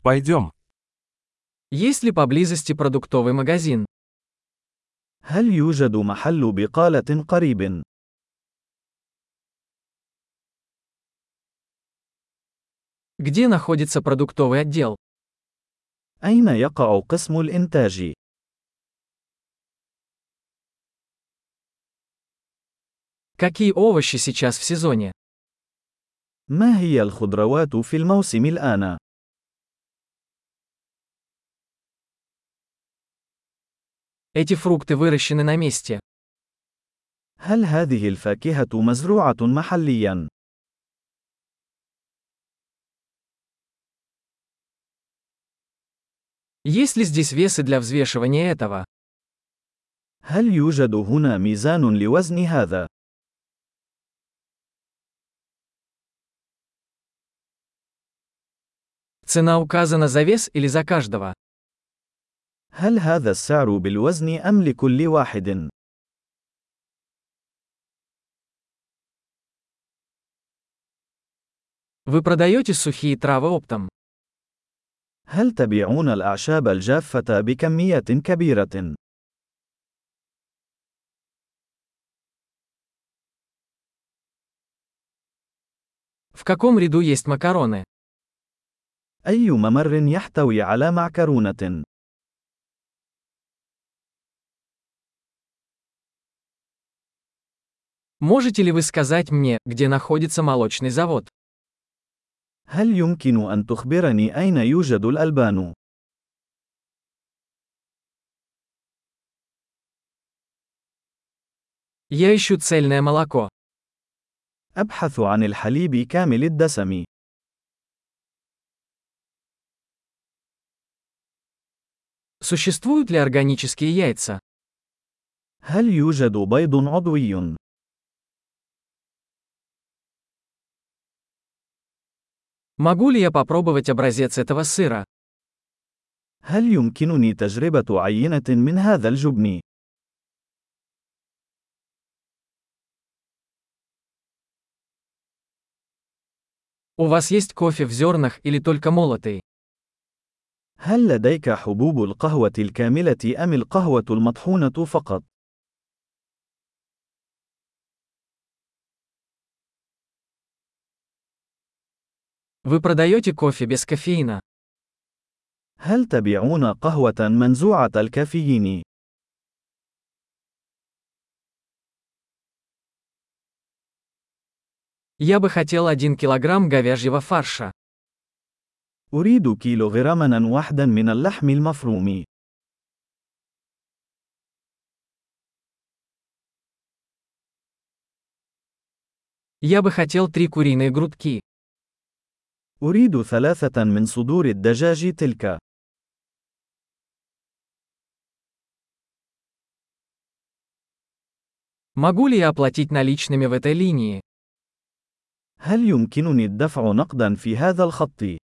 Пойдем. Есть ли поблизости продуктовый магазин? هل يوجد محل بقالة قريب؟ Где находится продуктовый отдел? أين يقع قسم الإنتاج؟ Какие овощи сейчас в сезоне? ما هي الخضروات في الموسم الآن؟ Эти фрукты выращены на месте. هل هذه الفاكهة مزروعة محلياً؟ Есть ли здесь весы для взвешивания этого? هل يوجد هنا ميزان لوزن هذا؟ Цена указана за вес или за каждого? هل هذا السعر بالوزن أم لكل واحد؟ Вы продаете сухие травы оптом? هل تبيعون الأعشاب الجافة بكميات كبيرة؟ В каком ряду есть макароны? أي ممر يحتوي على معكرونة؟ Можете ли вы сказать мне, где находится молочный завод? هل يمكن أن تخبرني أين يوجد الألبان؟ Я ищу цельное молоко. أبحث عن الحليب كامل الدسم. Существуют ли органические яйца? هل يوجد بيض عضوي؟ Могу ли я попробовать образец этого сыра? هل يمكنني تجربة عينة من هذا الجبن؟ У вас есть кофе в зернах или только молотый? هل لديك حبوب القهوة الكاملة أم القهوة المطحونة فقط؟ Вы продаете кофе без кофеина? هل تبيعون قهوة منزوعة الكافيين؟ Я бы хотел 1 килограмм говяжьего фарша. أريد كيلوغراما واحدا من اللحم المفروم. Я бы хотел 3 куриные грудки. أريد 3 من صدور الدجاج تلك. Могу ли я оплатить наличными в этой линии? هل يمكنني الدفع نقدا في هذا الخط؟